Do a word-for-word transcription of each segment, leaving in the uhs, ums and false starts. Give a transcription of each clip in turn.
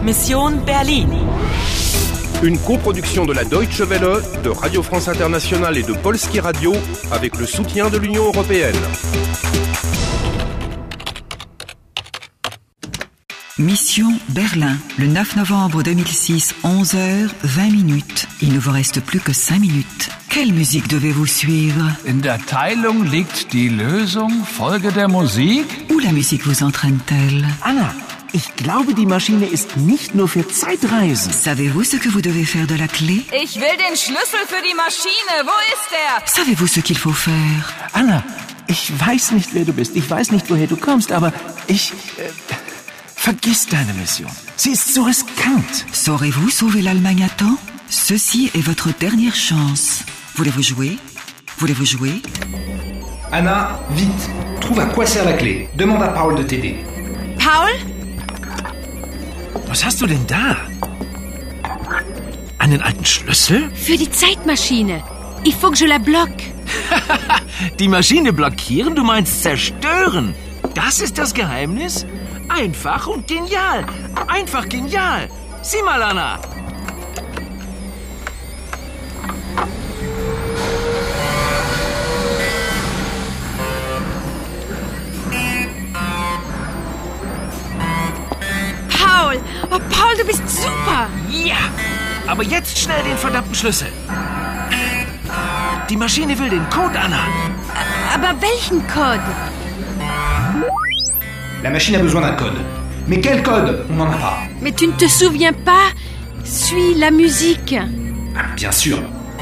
Mission Berlin. Une coproduction de la Deutsche Welle, de Radio France Internationale et de Polski Radio avec le soutien de l'Union européenne. Mission Berlin, le neuf novembre deux mille six, onze heures vingt minutes. Il ne vous reste plus que cinq minutes. Quelle musique devez-vous suivre? In der Teilung liegt die Lösung. Folge der Musik. Où la musique vous entraîne-t-elle? Anna, ich glaube, die Maschine ist nicht nur für Zeitreisen. Savez-vous ce que vous devez faire de la clé? Ich will den Schlüssel für die Maschine. Wo ist er? Savez-vous ce qu'il faut faire? Anna, ich weiß nicht, wer du bist. Ich weiß nicht, woher du kommst, aber ich... Äh, vergiss deine Mission. Sie ist so riskant. Saurez-vous sauver l'Allemagne à temps? Ceci est votre dernière chance. Voulez-vous jouer? Voulez-vous jouer? Anna, vite, trouve à quoi sert la clé. Demande à Paul de t'aider. Paul? Was hast du denn da? Einen alten Schlüssel? Für die Zeitmaschine. Il faut que je la bloque. Die Maschine blockieren? Du meinst zerstören? Das ist das Geheimnis? Einfach und genial. Einfach genial. Sieh mal, Anna. Paul! Oh, Paul, du bist super! Ja, aber jetzt schnell den verdammten Schlüssel. Die Maschine will den Code, Anna. Aber welchen Code? La machine a besoin d'un code. Mais quel code? On n'en a pas. Mais tu ne te souviens pas? Suis la musique. Ah, bien sûr.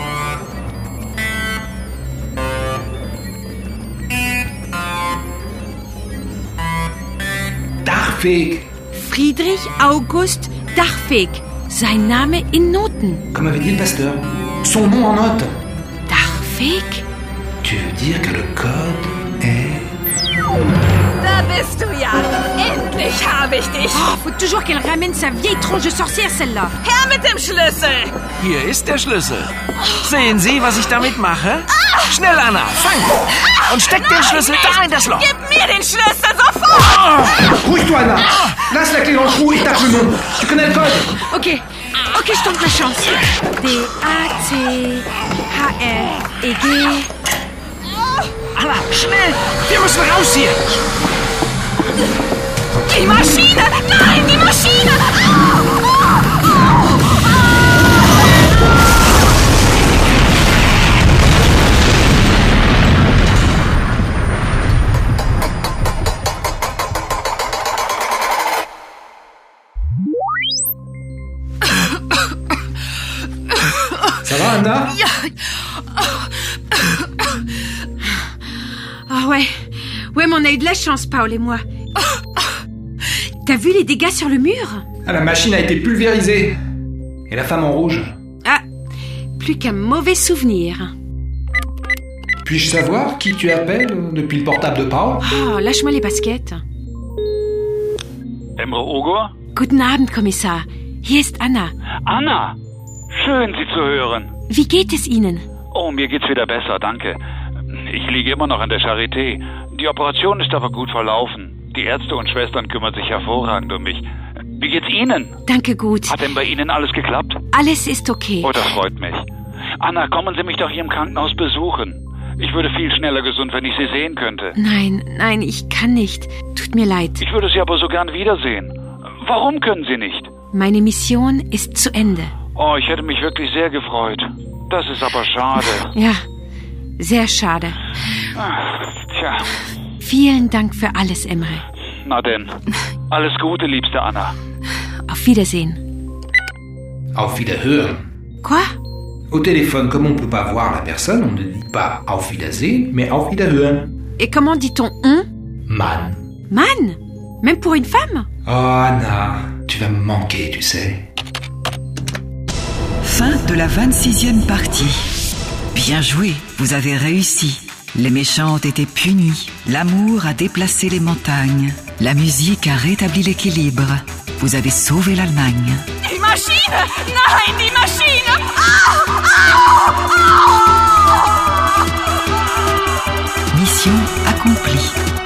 Darfeg. Friedrich August Darfeg. Sein Name in Noten. Comme avait dit le pasteur. Son nom en notes. Darfeg? Tu veux dire que le code est... Da bist du ja. Endlich habe ich dich. Oh, faut toujours qu'elle ramène sa vieille tronche de sorcière, celle-là. Her mit dem Schlüssel. Hier ist der Schlüssel. Sehen Sie, was ich damit mache? Schnell, Anna, fang! Und steck Nein, den Schlüssel nicht. da in das Loch. Gib mir den Schlüssel sofort. Rouille-toi, Anna. Laisse la clé dans le trou et tape le nom. Tu connais le code? Ok, ok, je tente ma chance. D A C H R E G. Anna, schnell! Wir müssen raus hier! Die Maschine! Nein, die Maschine! Ça va, Anna? Ja. Ah ouais. Ouais, mais on a eu de la chance, Paul et moi. T'as vu les dégâts sur le mur? Ah, la machine a été pulvérisée. Et la femme en rouge? Ah, plus qu'un mauvais souvenir. Puis-je savoir qui tu appelles depuis le portable de Paul? Oh, lâche-moi les baskets. Emre Ogur? Guten Abend, Kommissar. Hier ist Anna. Anna! Schön, Sie zu hören. Wie geht es Ihnen? Oh, mir geht's wieder besser, danke. Ich liege immer noch in der Charité. Die Operation ist aber gut verlaufen. Die Ärzte und Schwestern kümmern sich hervorragend um mich. Wie geht's Ihnen? Danke gut. Hat denn bei Ihnen alles geklappt? Alles ist okay. Oh, das freut mich. Anna, kommen Sie mich doch hier im Krankenhaus besuchen. Ich würde viel schneller gesund, wenn ich Sie sehen könnte. Nein, nein, ich kann nicht. Tut mir leid. Ich würde Sie aber so gern wiedersehen. Warum können Sie nicht? Meine Mission ist zu Ende. Oh, ich hätte mich wirklich sehr gefreut. Das ist aber schade. Ja, sehr schade. Ach, tja. Vielen Dank für alles, Emre. Na denn. Alles Gute, liebste Anna. Auf Wiedersehen. Auf Wiederhören. Quoi? Au téléphone, comme on ne peut pas voir la personne, on ne dit pas Auf Wiedersehen, mais Auf Wiederhören. Et comment dit-on on? Man. Man? Même pour une femme? Oh, Anna, tu vas me manquer, tu sais. Fin de la vingt-sixième partie. Bien joué, vous avez réussi. Les méchants ont été punis. L'amour a déplacé les montagnes. La musique a rétabli l'équilibre. Vous avez sauvé l'Allemagne. Die Maschine! Nein, die Maschine! Au! Au! Au! Mission accomplie.